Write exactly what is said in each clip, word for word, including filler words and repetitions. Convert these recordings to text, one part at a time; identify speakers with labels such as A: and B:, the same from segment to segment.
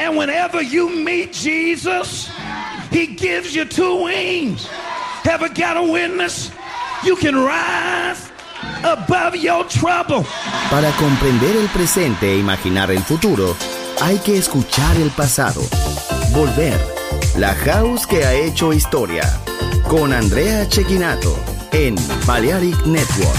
A: And whenever you meet Jesus, he gives you two wings. Ever got a witness? You can rise above your trouble.
B: Para comprender el presente e imaginar el futuro, hay que escuchar el pasado. Volver. La House que ha hecho historia. Con Andrea Cecchinato en Balearic Network.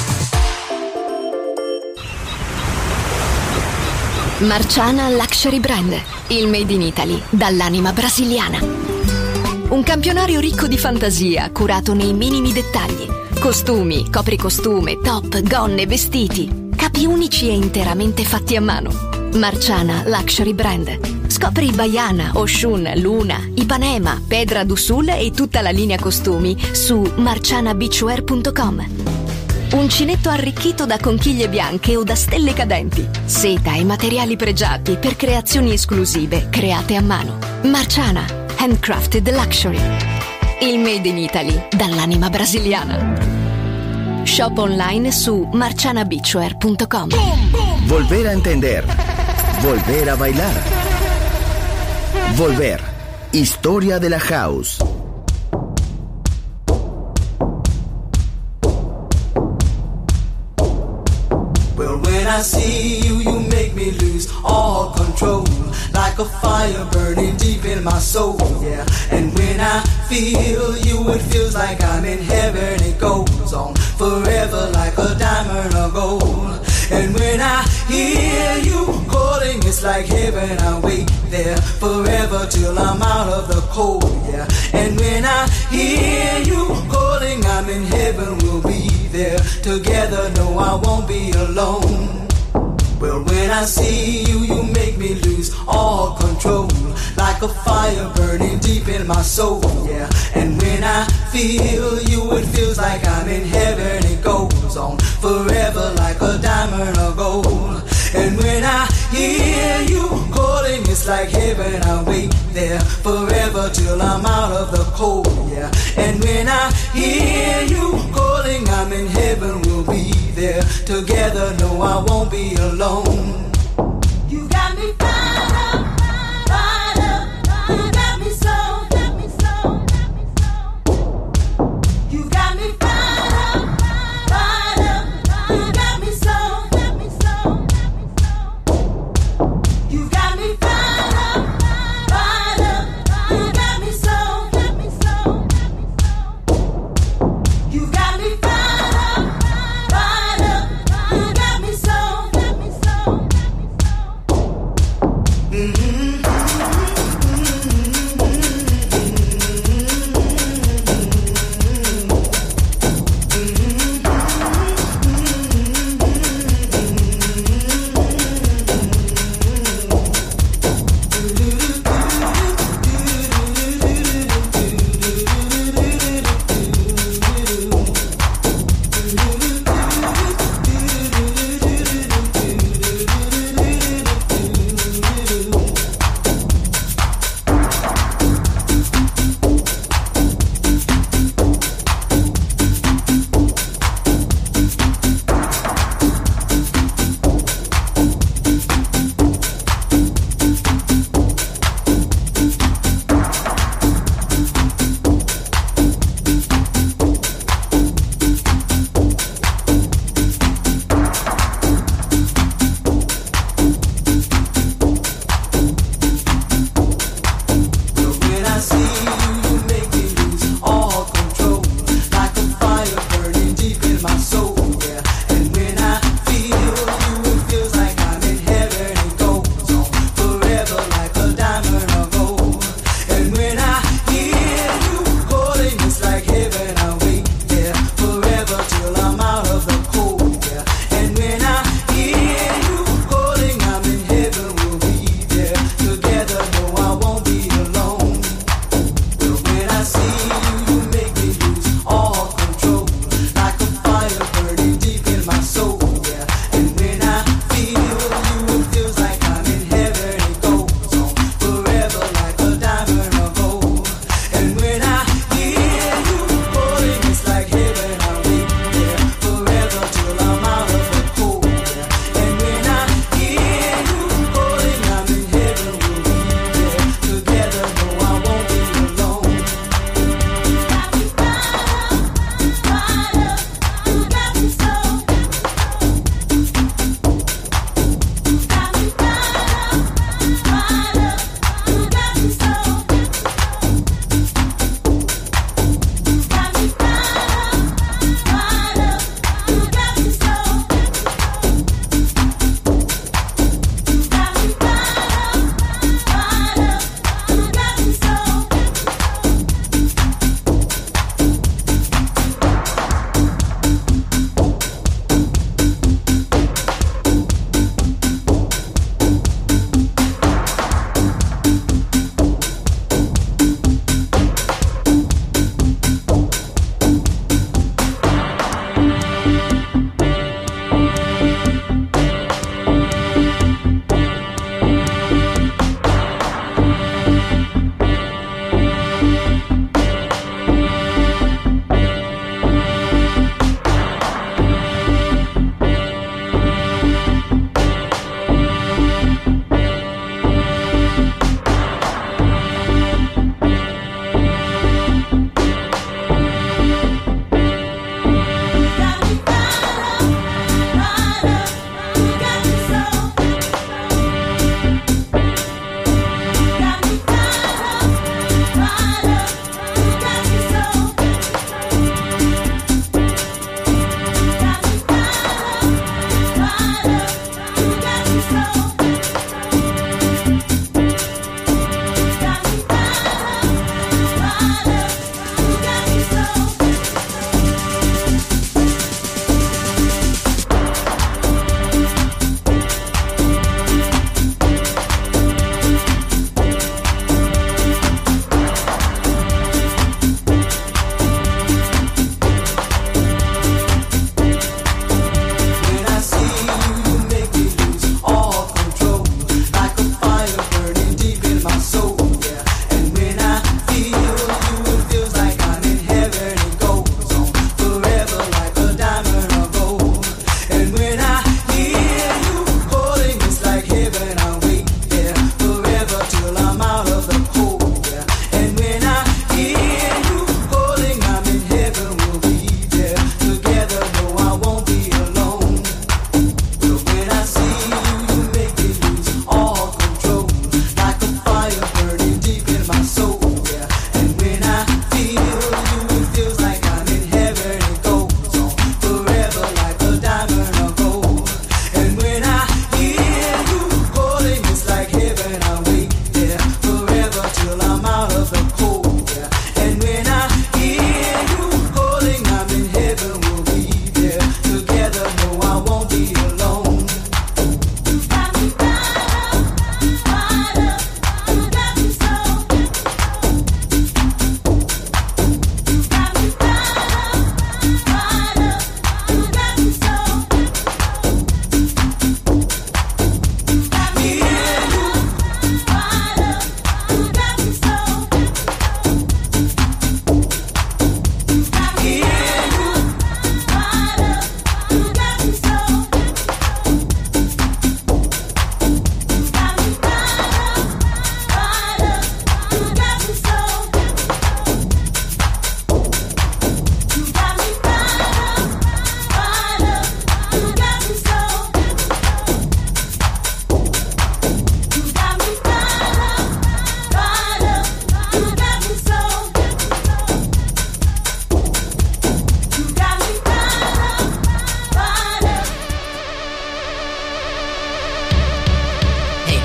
C: Marciana Luxury Brand, il made in Italy dall'anima brasiliana. Un campionario ricco di fantasia, curato nei minimi dettagli. Costumi, copricostume, top, gonne, vestiti. Capi unici e interamente fatti a mano. Marciana Luxury Brand. Scopri Baiana, Oshun, Luna, Ipanema, Pedra do Sul e tutta la linea costumi su marciana beachwear punto com. Uncinetto arricchito da conchiglie bianche o da stelle cadenti. Seta e materiali pregiati per creazioni esclusive create a mano. Marciana, handcrafted luxury. Il made in Italy dall'anima brasiliana. Shop online su marciana beachwear punto com.
B: Volver a entender. Volver a bailar. Volver. Historia de la House.
D: When I see you, you make me lose all control. Like a fire burning deep in my soul, yeah. And when I feel you, it feels like I'm in heaven. It goes on forever like a diamond or gold. And when I hear you calling, it's like heaven. I wait there forever till I'm out of the cold, yeah. And when I hear you calling, I'm in heaven. We'll be there together. No, I won't be alone. Well, when I see you, you make me lose all control. Like a fire burning deep in my soul, yeah. And when I feel you, it feels like I'm in heaven. It goes on forever like a diamond or gold. And when I hear you calling, it's like heaven. I wait there forever till I'm out of the cold, yeah. And when I hear you calling, I'm in heaven. We'll be there together. No, I won't be alone. You got me fired up, fired up. You got me so, got me so, got me so. You got me fired up, fired up. You got me so, got me so, got me so. You got me fired up, fired up. You got me so, got me so, got me so. You got me fired up, fired up. You got me so, got me so, got me so. Mm-hmm.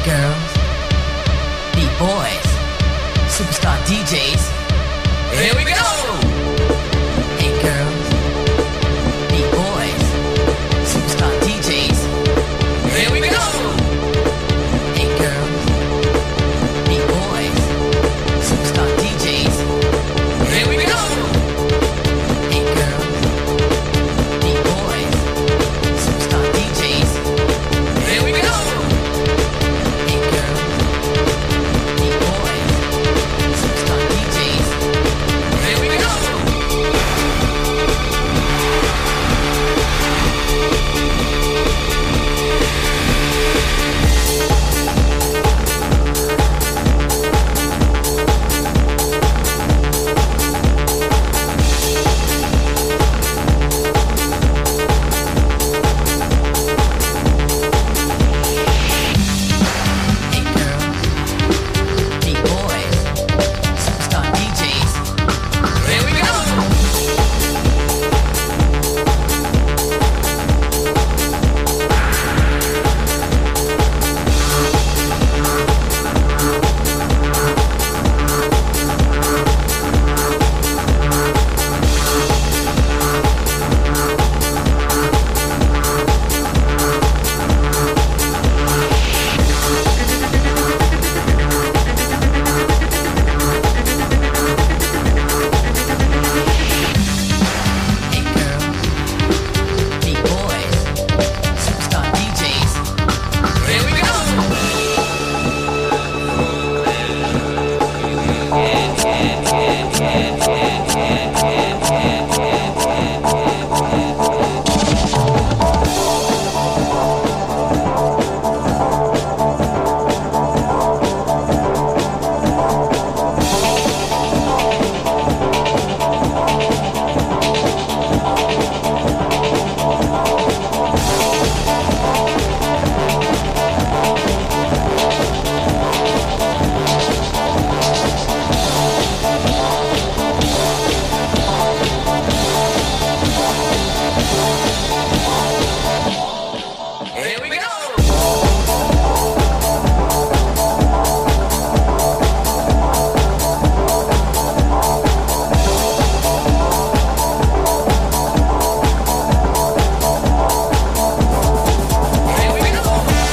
E: girls, beat boys, superstar D Js. Here we go! Hey girls, beat boys, superstar D Js. Here we go! Hey girls, beat boys, superstar D Js. Here we go! Hey girls, beat boys, superstar D Js. Here we go! Hey girls, beat boys, superstar D Js. Here we go! Hey girls, beat boys, superstar D Js. Here we go! Hey girls, beat boys, superstar D Js. Here we go! Here we go! Here we go!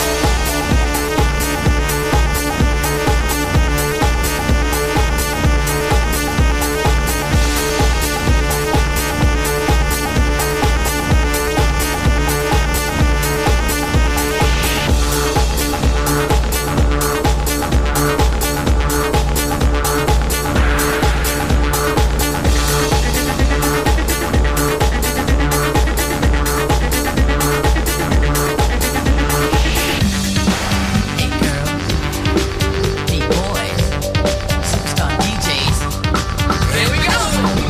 E: Hey girls, beat boys, superstar D Js. Here we go!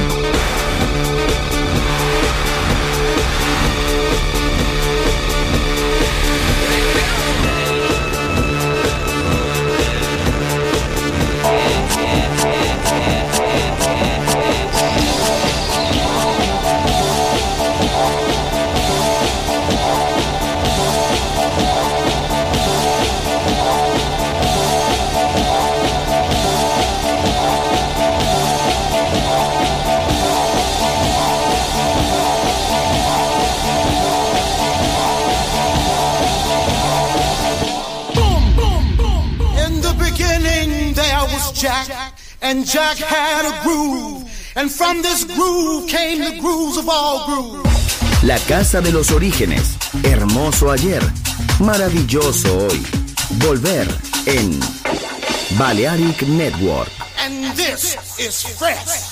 F: In the beginning there was Jack, and Jack had a groove, and from this groove came the grooves of all grooves.
B: La casa de los orígenes. Hermoso ayer, maravilloso hoy. Volver en Balearic Network.
F: And this is fresh.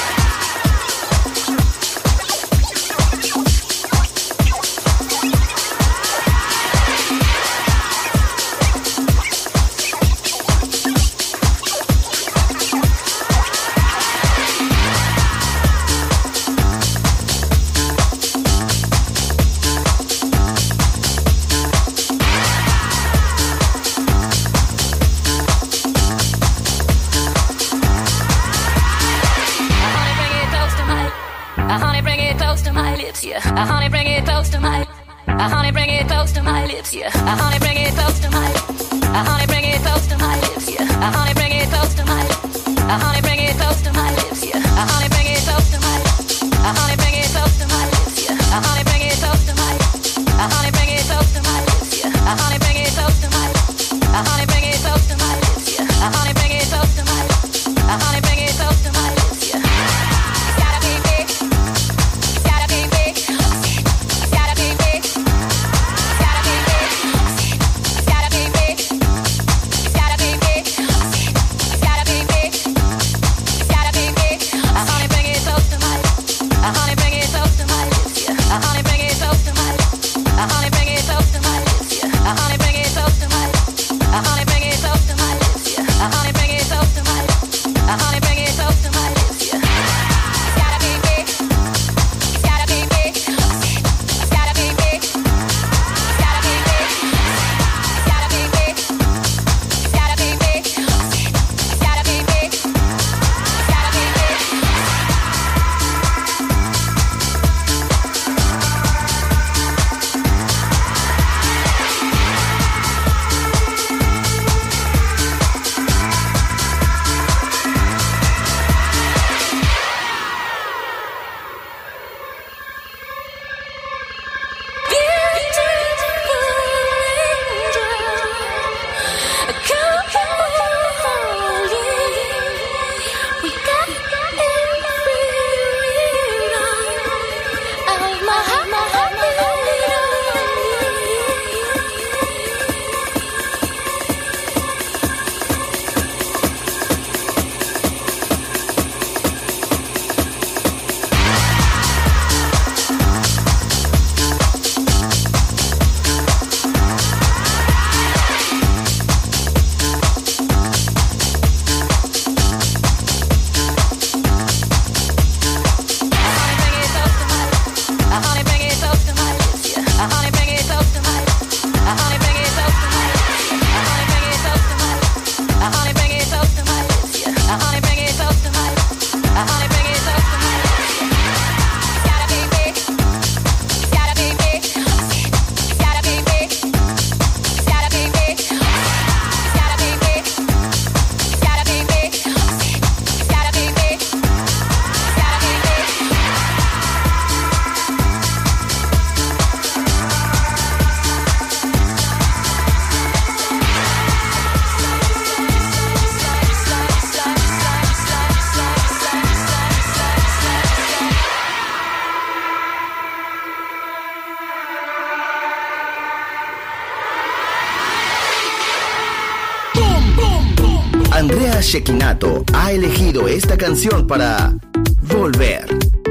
G: yeah. Uh, honey, bring it close to my. Uh, honey, bring it close to my lips, yeah. Uh, honey, bring it close to my. Uh, honey. Uh, honey, bring it close to my lips, yeah. Uh, honey, bring it close to my lips. Uh, honey, bring it close to my lips, yeah. It's gotta be big. It's gotta be big. It's gotta be big. It's gotta be big. It's gotta be big. It's gotta be big. It's gotta be big. It's gotta be big. Uh, honey, bring it close to my lips. Uh, honey, bring it close to my lips, yeah. Uh, honey, bring it close to my lips. Uh, honey, bring it close to my lips, yeah. Uh, honey, bring it close to my lips. Uh, honey, bring it close to my lips, yeah. Uh, honey, bring it close to my lips. Uh, honey, bring it close to my lips, yeah. It's gotta be big. It's gotta be big. It's gotta be big. It's gotta be big. It's gotta be big. It's gotta be big. It's gotta be big. It's gotta be big.
B: Andrea Cecchinato ha elegido esta canción para Volver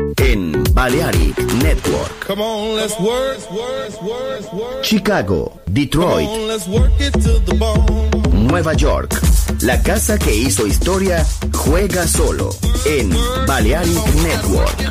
B: en Balearic Network.
H: Come on, let's work, work, work, work.
B: Chicago, Detroit,
H: Come on, let's work it to the bone.
B: Nueva York. La casa que hizo historia juega solo en Balearic Network.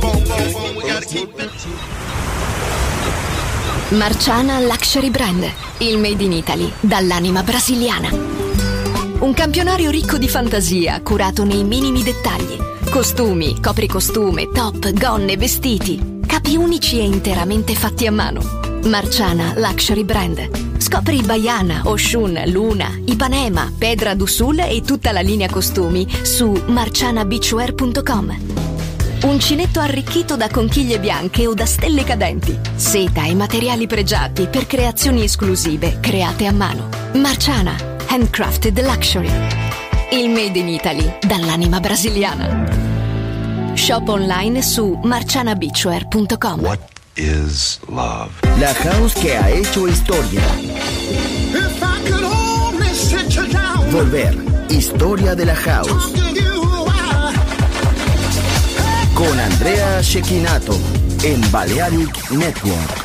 C: Marciana Luxury Brand, il made in Italy dall'anima brasiliana. Un campionario ricco di fantasia, curato nei minimi dettagli. Costumi, copricostume, top, gonne, vestiti. Capi unici e interamente fatti a mano. Marciana Luxury Brand. Scopri Baiana, Oshun, Luna, Ipanema, Pedra do Sul e tutta la linea costumi su marciana beachwear punto com. Uncinetto arricchito da conchiglie bianche o da stelle cadenti. Seta e materiali pregiati per creazioni esclusive create a mano. Marciana Handcrafted Luxury. Il made in Italy dall'anima brasiliana. Shop online su marciana beachwear punto com.
I: What is love?
B: La house que ha hecho historia. Volver, historia de la house. Con Andrea Cecchinato en Balearic Network.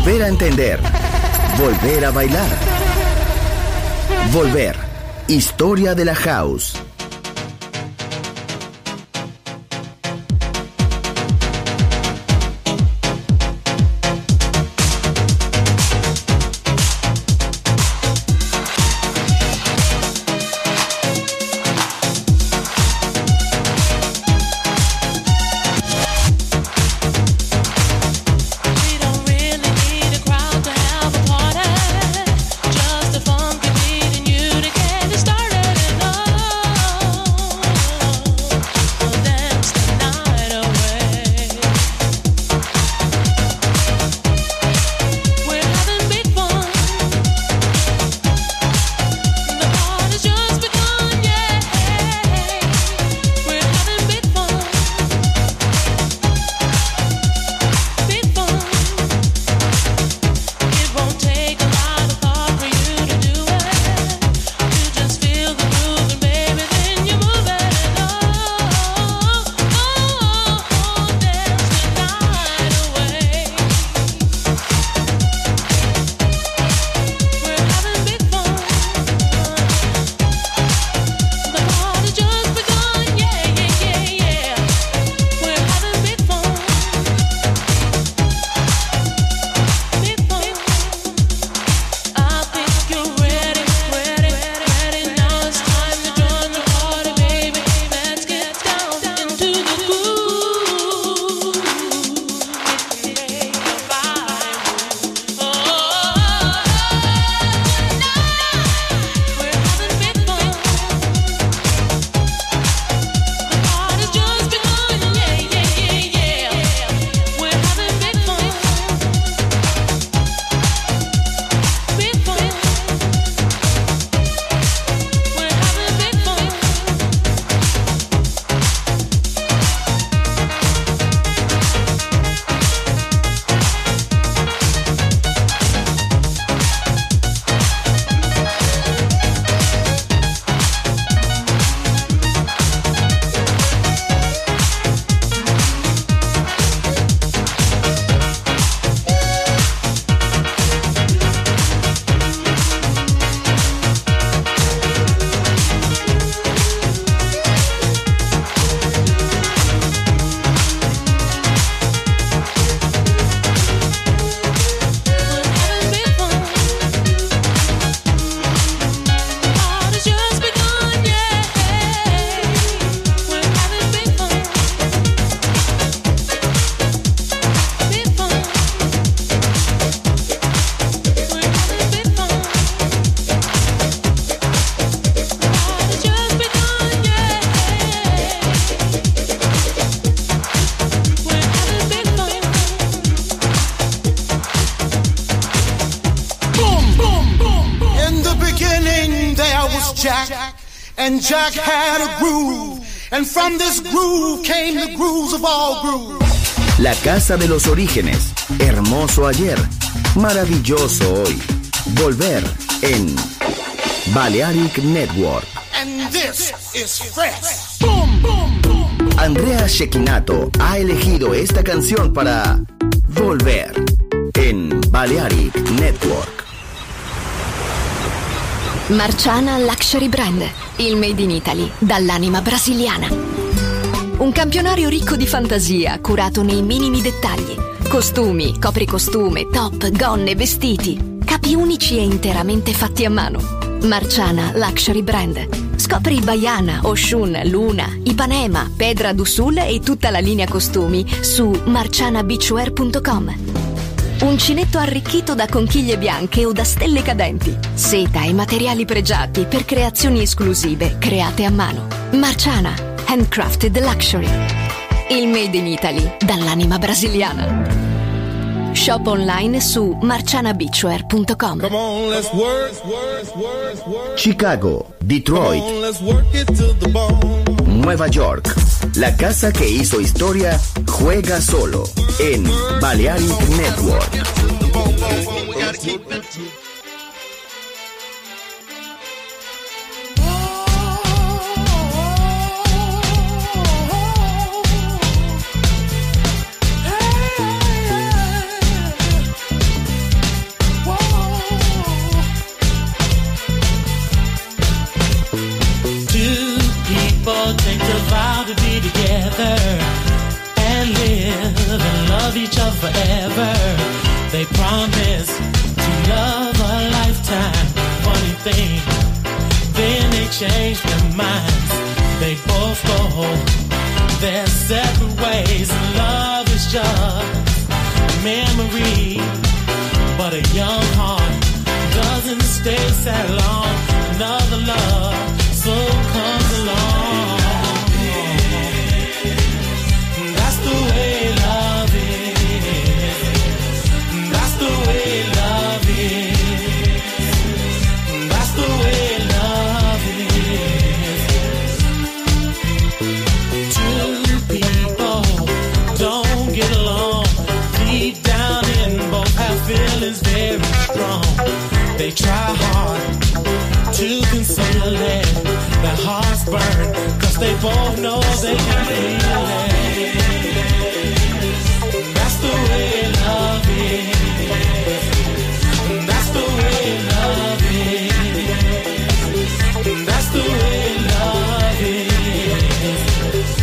B: Volver a entender. Volver a bailar. Volver. Historia de la house.
F: Jack, and Jack had a groove, and from this groove came the grooves of all grooves.
B: La casa de los orígenes, hermoso ayer, maravilloso hoy. Volver en Balearic Network.
F: And this is fresh. Boom, boom, boom.
B: Andrea Cecchinato ha elegido esta canción para Volver en Balearic Network.
C: Marciana Luxury Brand, il made in Italy dall'anima brasiliana. Un campionario ricco di fantasia, curato nei minimi dettagli. Costumi, copricostume, top, gonne, vestiti. Capi unici e interamente fatti a mano. Marciana Luxury Brand. Scopri Baiana, Oshun, Luna, Ipanema, Pedra do Sul e tutta la linea costumi su marciana beachwear punto com. Uncinetto arricchito da conchiglie bianche o da stelle cadenti. Seta e materiali pregiati per creazioni esclusive create a mano. Marciana, handcrafted luxury. Il made in Italy dall'anima brasiliana. Shop online su marciana beachwear punto com.
H: Come on, let's work, work, work, work.
B: Chicago, Detroit,
H: Come on, let's work it to the bone.
B: Nueva York. La casa que hizo historia juega solo en Balearic Network.
J: people take the vow to be together and live and love each other forever. They promise to love a lifetime. Funny thing, then they change their minds. They both go their separate ways. And love is just a memory, but a young heart doesn't stay sad long. Another love soon comes along. That's the way love is. That's the way love is. That's the way love is. Two people don't get along. Deep down in both have feelings very strong. They try hard to conceal it. Their hearts burn, cause they both know they can feel it. That's the way love is. That's the way love is. That's the way love is.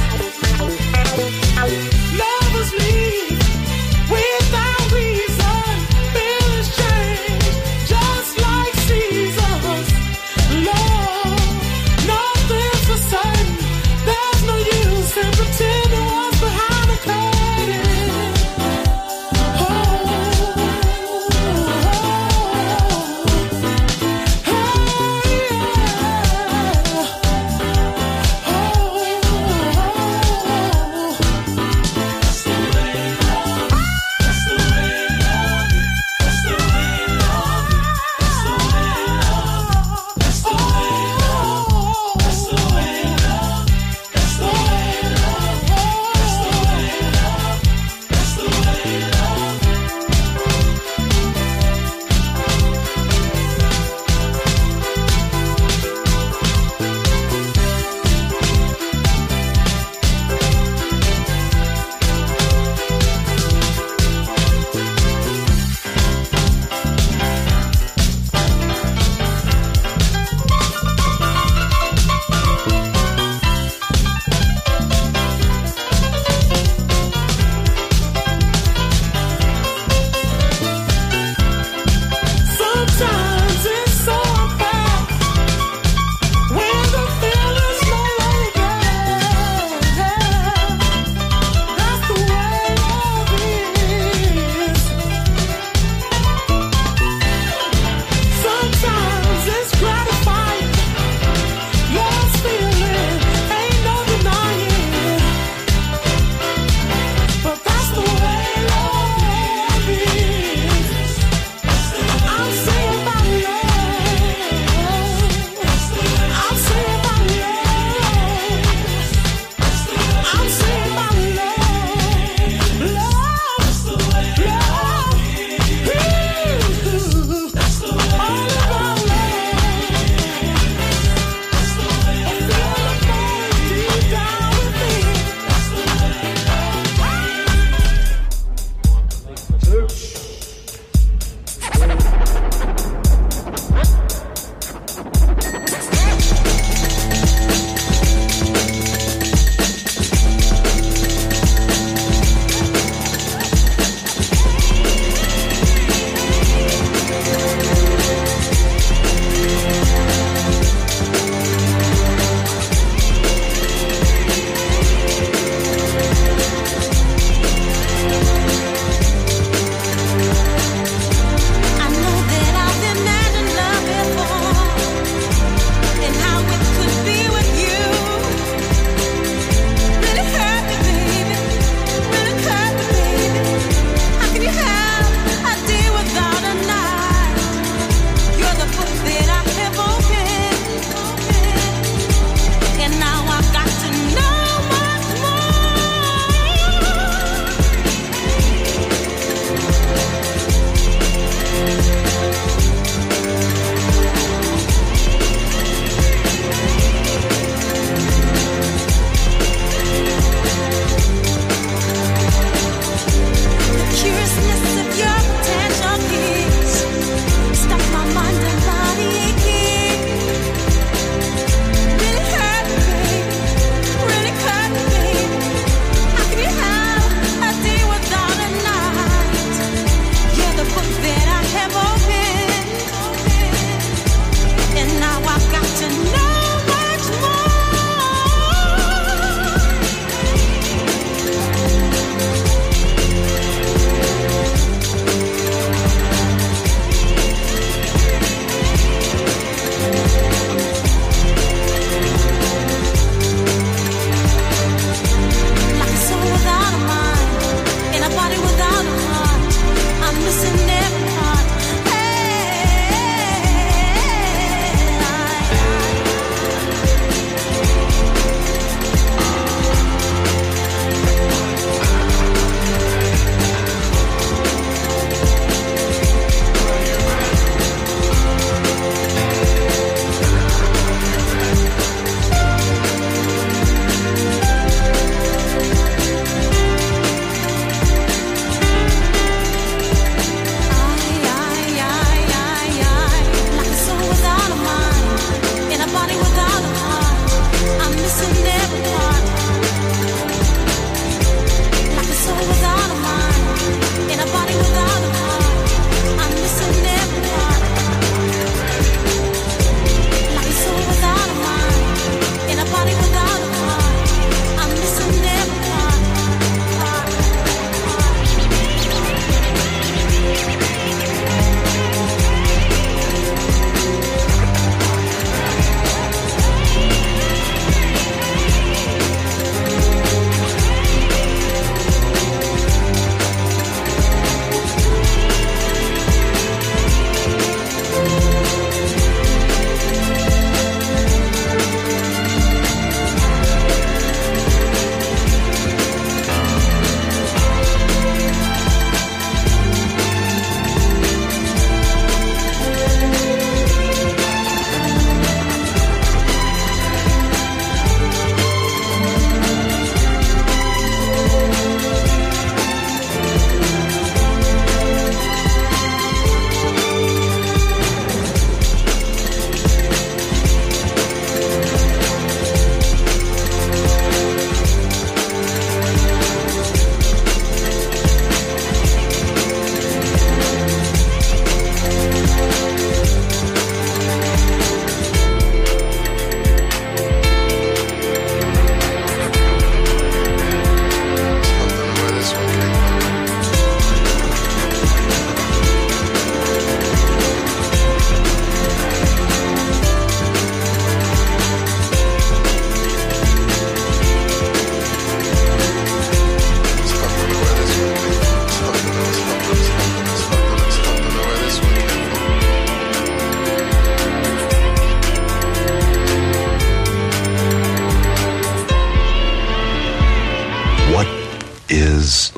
J: Lovers leave without reason. Feelings change just like seasons. Love, nothing's for certain. There's no use in pretending what's behind the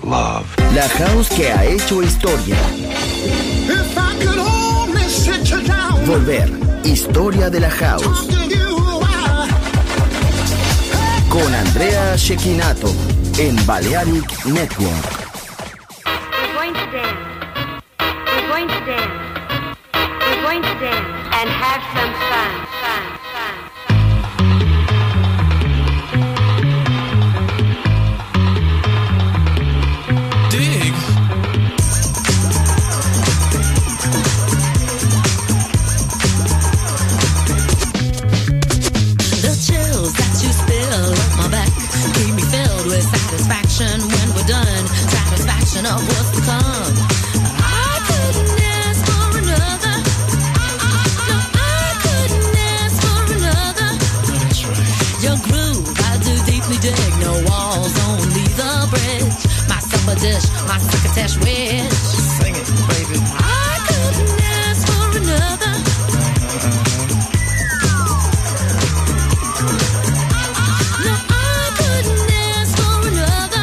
I: love.
B: La house que ha hecho historia.
F: If I could only sit you down.
B: Volver. Historia de la house. Con Andrea Cecchinato en Balearic Network.
K: We're going to dance. We're going to dance. We're going to dance and have some fun. Fun. Fun.
L: When we're done, satisfaction of what's to come. I couldn't ask for another. No, I couldn't ask for another. That's right. Your groove, I do deeply dig. No walls, only the bridge. My supper dish, my crocketesh wish. Sing it, baby. I couldn't ask for another. No, I couldn't ask for another.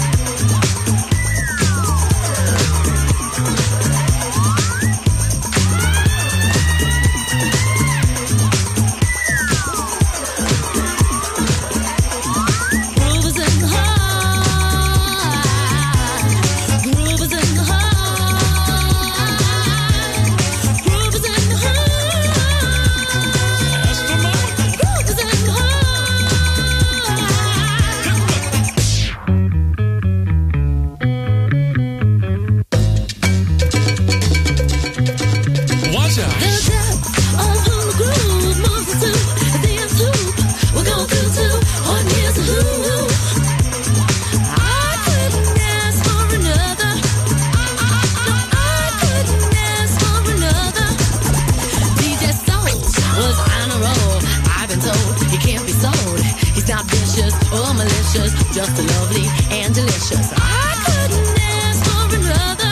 L: Just lovely and delicious. I couldn't ask for another.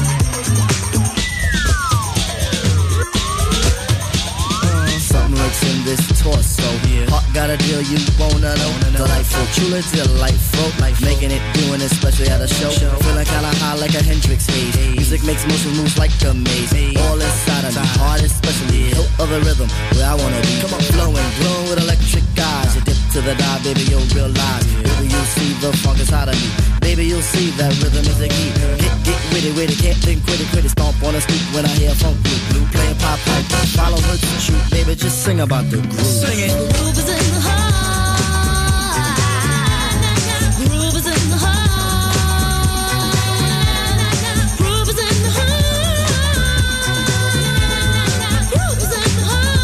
M: Uh, something lurks in this torso. Yeah. Heart got a deal you wanna know. Delightful, truly delightful. Life making it, doing it, especially at a show. show. Feeling kinda high like a Hendrix haze. Hey. Music makes motion moves like a maze. Hey. All inside of me, heart especially. Hilt of the rhythm, where I wanna be. Come on, flowing, glowing with electric eyes. You dip to the dive, baby, you'll realize. Yeah. Baby, you'll see the funk inside of me. Baby, you'll see that rhythm is the key. Get, get witty, witty, can't think, quitty, quitty. Stomp on the street when I hear funk blue, blue. Playing pop pipe, follow her to shoot. Baby, just sing about the groove. Sing it.
L: The groove is in the heart. Groove is in the heart. Groove is in the heart. Groove is in the heart.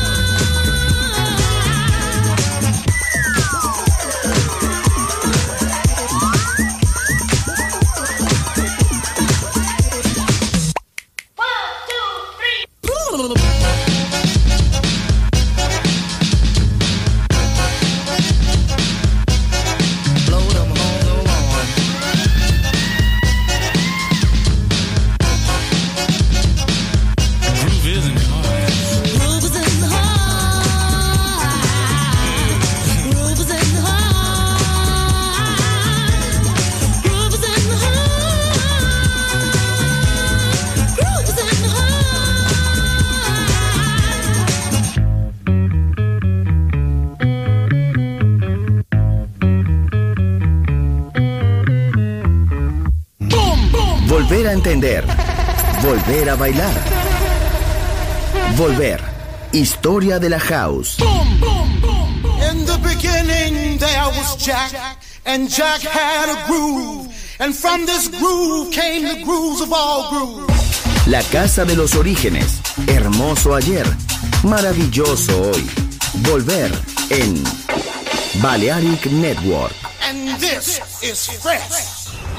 B: Volver a entender. Volver a bailar. Volver. Historia de la house.
F: In the beginning there was Jack, and Jack had a groove, and from this groove came the grooves of all grooves.
B: La casa de los orígenes. Hermoso ayer. Maravilloso hoy. Volver en Balearic Network.
F: And this is fresh.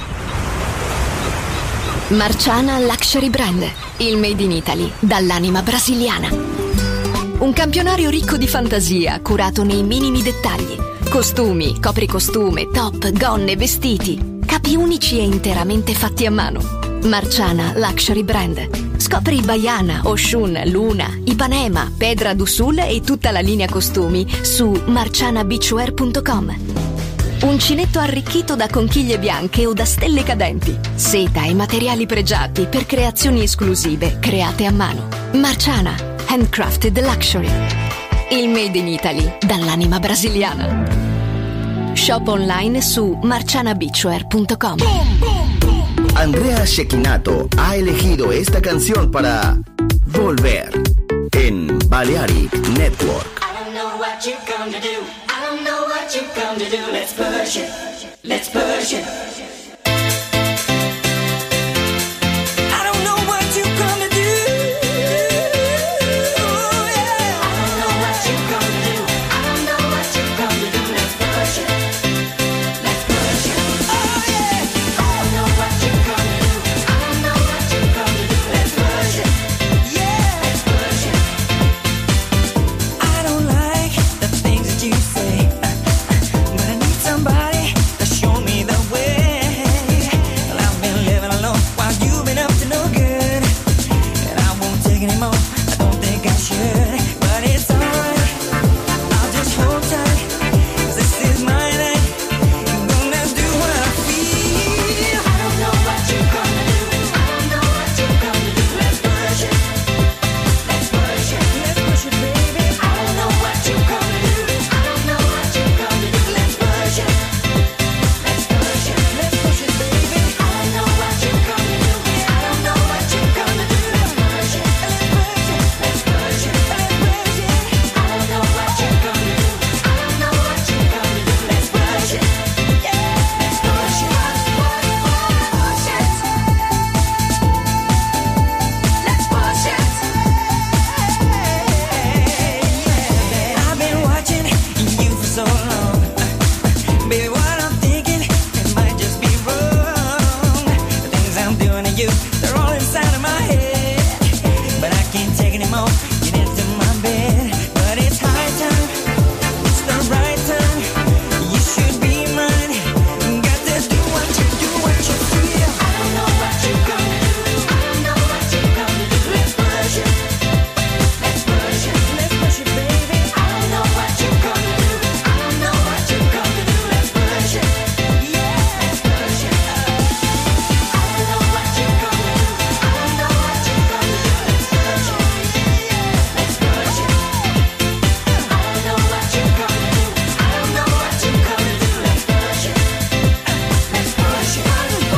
C: Marciana Luxury Brand, il made in Italy dall'anima brasiliana. Un campionario ricco di fantasia, curato nei minimi dettagli. Costumi, copricostume, top, gonne, vestiti. Capi unici e interamente fatti a mano. Marciana Luxury Brand. Scopri Baiana, Oshun, Luna, Ipanema, Pedra do Sul e tutta la linea costumi su marciana beachwear punto com. Uncinetto arricchito da conchiglie bianche o da stelle cadenti. Seta e materiali pregiati per creazioni esclusive create a mano. Marciana, handcrafted luxury. Il made in Italy dall'anima brasiliana. Shop online su marciana beachwear punto com.
B: Andrea Cecchinato ha elegido esta canción para Volver en Balearic Network.
N: I don't know what you come to do. I don't know what you come to do. Let's push it. Let's push it. I don't know what you come to do. Yeah. I don't know what you come to do. I don't know what you come to do. Let's push it. Let's push it. Oh yeah. I don't know what you come to do. I don't know what you come to do. Let's push it. Yeah. Let's push it. I don't like the things that you say, but I need somebody to show me the way. Well, I've been living alone while you've been up to no good, and I won't take any more. I don't think I should, but it's alright. I'll just hold tight, 'cause this is my night. I'm gonna do what I feel. I don't know what you gonna do. I don't know what you gonna do. Let's push it. Let's push it. Let's push it, baby. I don't know what you gonna do. I don't know what you gonna do. Let's push it. Let's push it. Let's push it, baby. I don't know what you gonna do. I don't know what you gonna do. Let's push it. Let's push it. Let's push it. Let's push it. I don't know what you gonna do. I don't know what you gonna do. Let's push it. Yeah. Let's push it. Push it. Let's push it. I've been watching you for so long. Baby, what I'm thinking, it might just be wrong. The things I'm doing to you, they're all inside of my head. But I can't take any more. Get into my bed. But it's high time. It's the right time. You should be mine. Got to do what you do, what you feel. I don't know what you gonna do. I don't know what you gonna do. Let's push it. Let's push it. Let's push it, baby. I don't know what you gonna do. I don't know what you gonna do. Let's push it. Yeah. Let's push it. I don't know what you gonna do. I don't know what you gonna do. Let's push it. Yeah. Let's push it. I don't know what you gonna do. I don't know what you gonna do. Let's push it. Let's push it.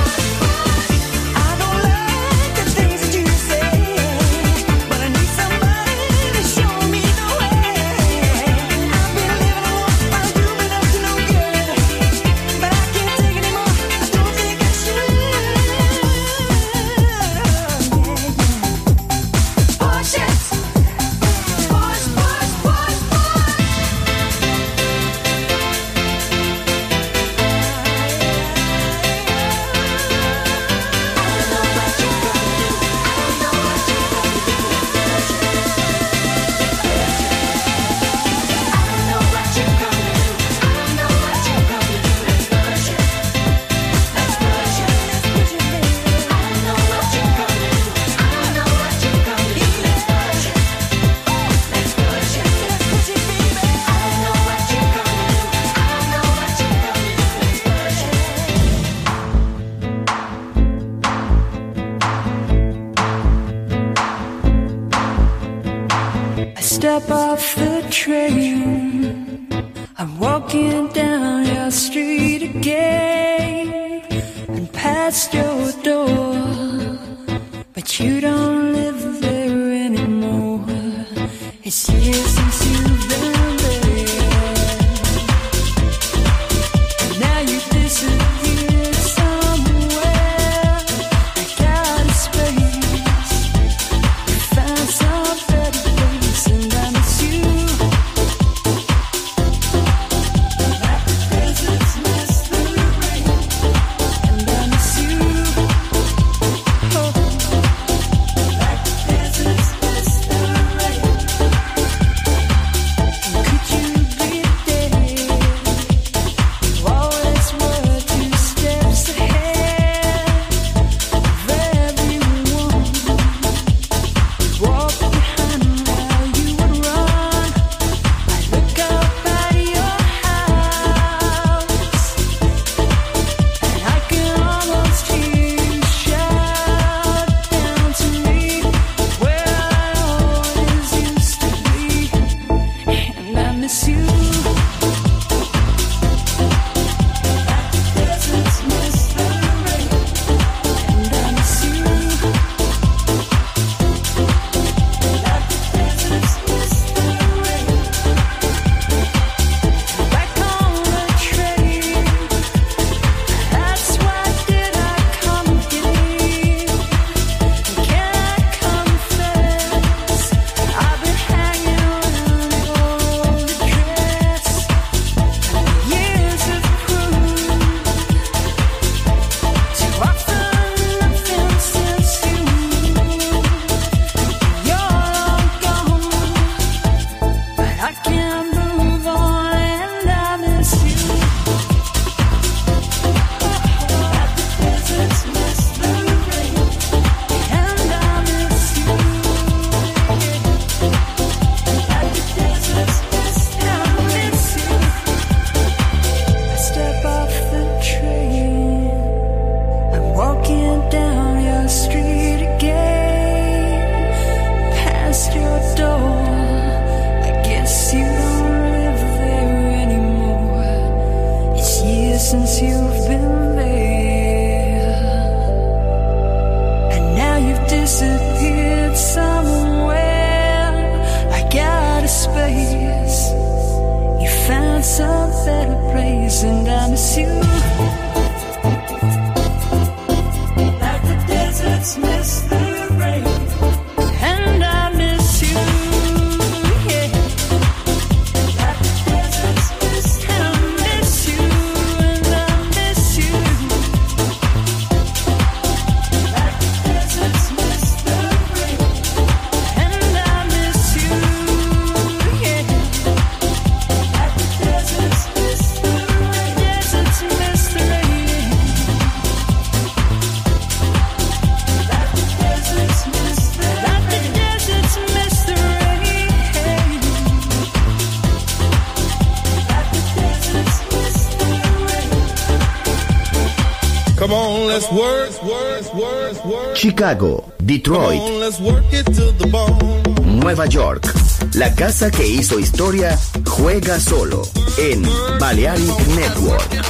N: I don't like the things that you say, but I need somebody to show me the way. I've been living alone while you've been up to no good, but I can't take any more. I don't think I should. Push it. Push, push, push, push.
O: I step off the train. I'm walking down your street again and past your door, but you don't live there anymore. It's years since you've been there, and now you disappeared somewhere. I got a space. Found some better place, and I miss you. Like the deserts miss the rain, and I miss you. Oh, like miss you. Deserts miss the rain, and I miss you. Like the deserts miss the rain. Back on the train, that's why did I come again? Can I confess, I've been hanging on an old dress. Years have proved too often nothing since you. You're long gone, but I can't move on, and I miss you. Like the deserts miss the rain, and I miss you. Like the deserts miss, I miss you. I step off the train, I'm walking down your street again, past your door. I guess you don't live there anymore. It's years since you've been there, and now you've disappeared somewhere. I got a space. You found some better place, and I miss you. Like the deserts miss the rain, and I miss you. Yeah. Like the deserts miss, and I miss you, and I miss you. Like the deserts miss the rain, and I miss you. Yeah. Like the deserts miss the rain, deserts miss the rain. Like the deserts miss the rain, like the deserts miss the rain. Like the deserts miss the rain.
H: Come on, let's work, work, work, work.
B: Chicago,
H: Come
B: Detroit,
H: on, let's work it to the bone.
B: Nueva York. La casa que hizo historia juega solo en Balearic Network.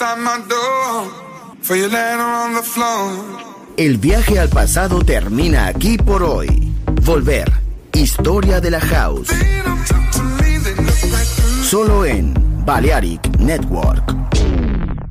P: outside my door. For you laying on the floor.
B: El viaje al pasado termina aquí por hoy. Volver. Historia de la House. Solo en Balearic Network.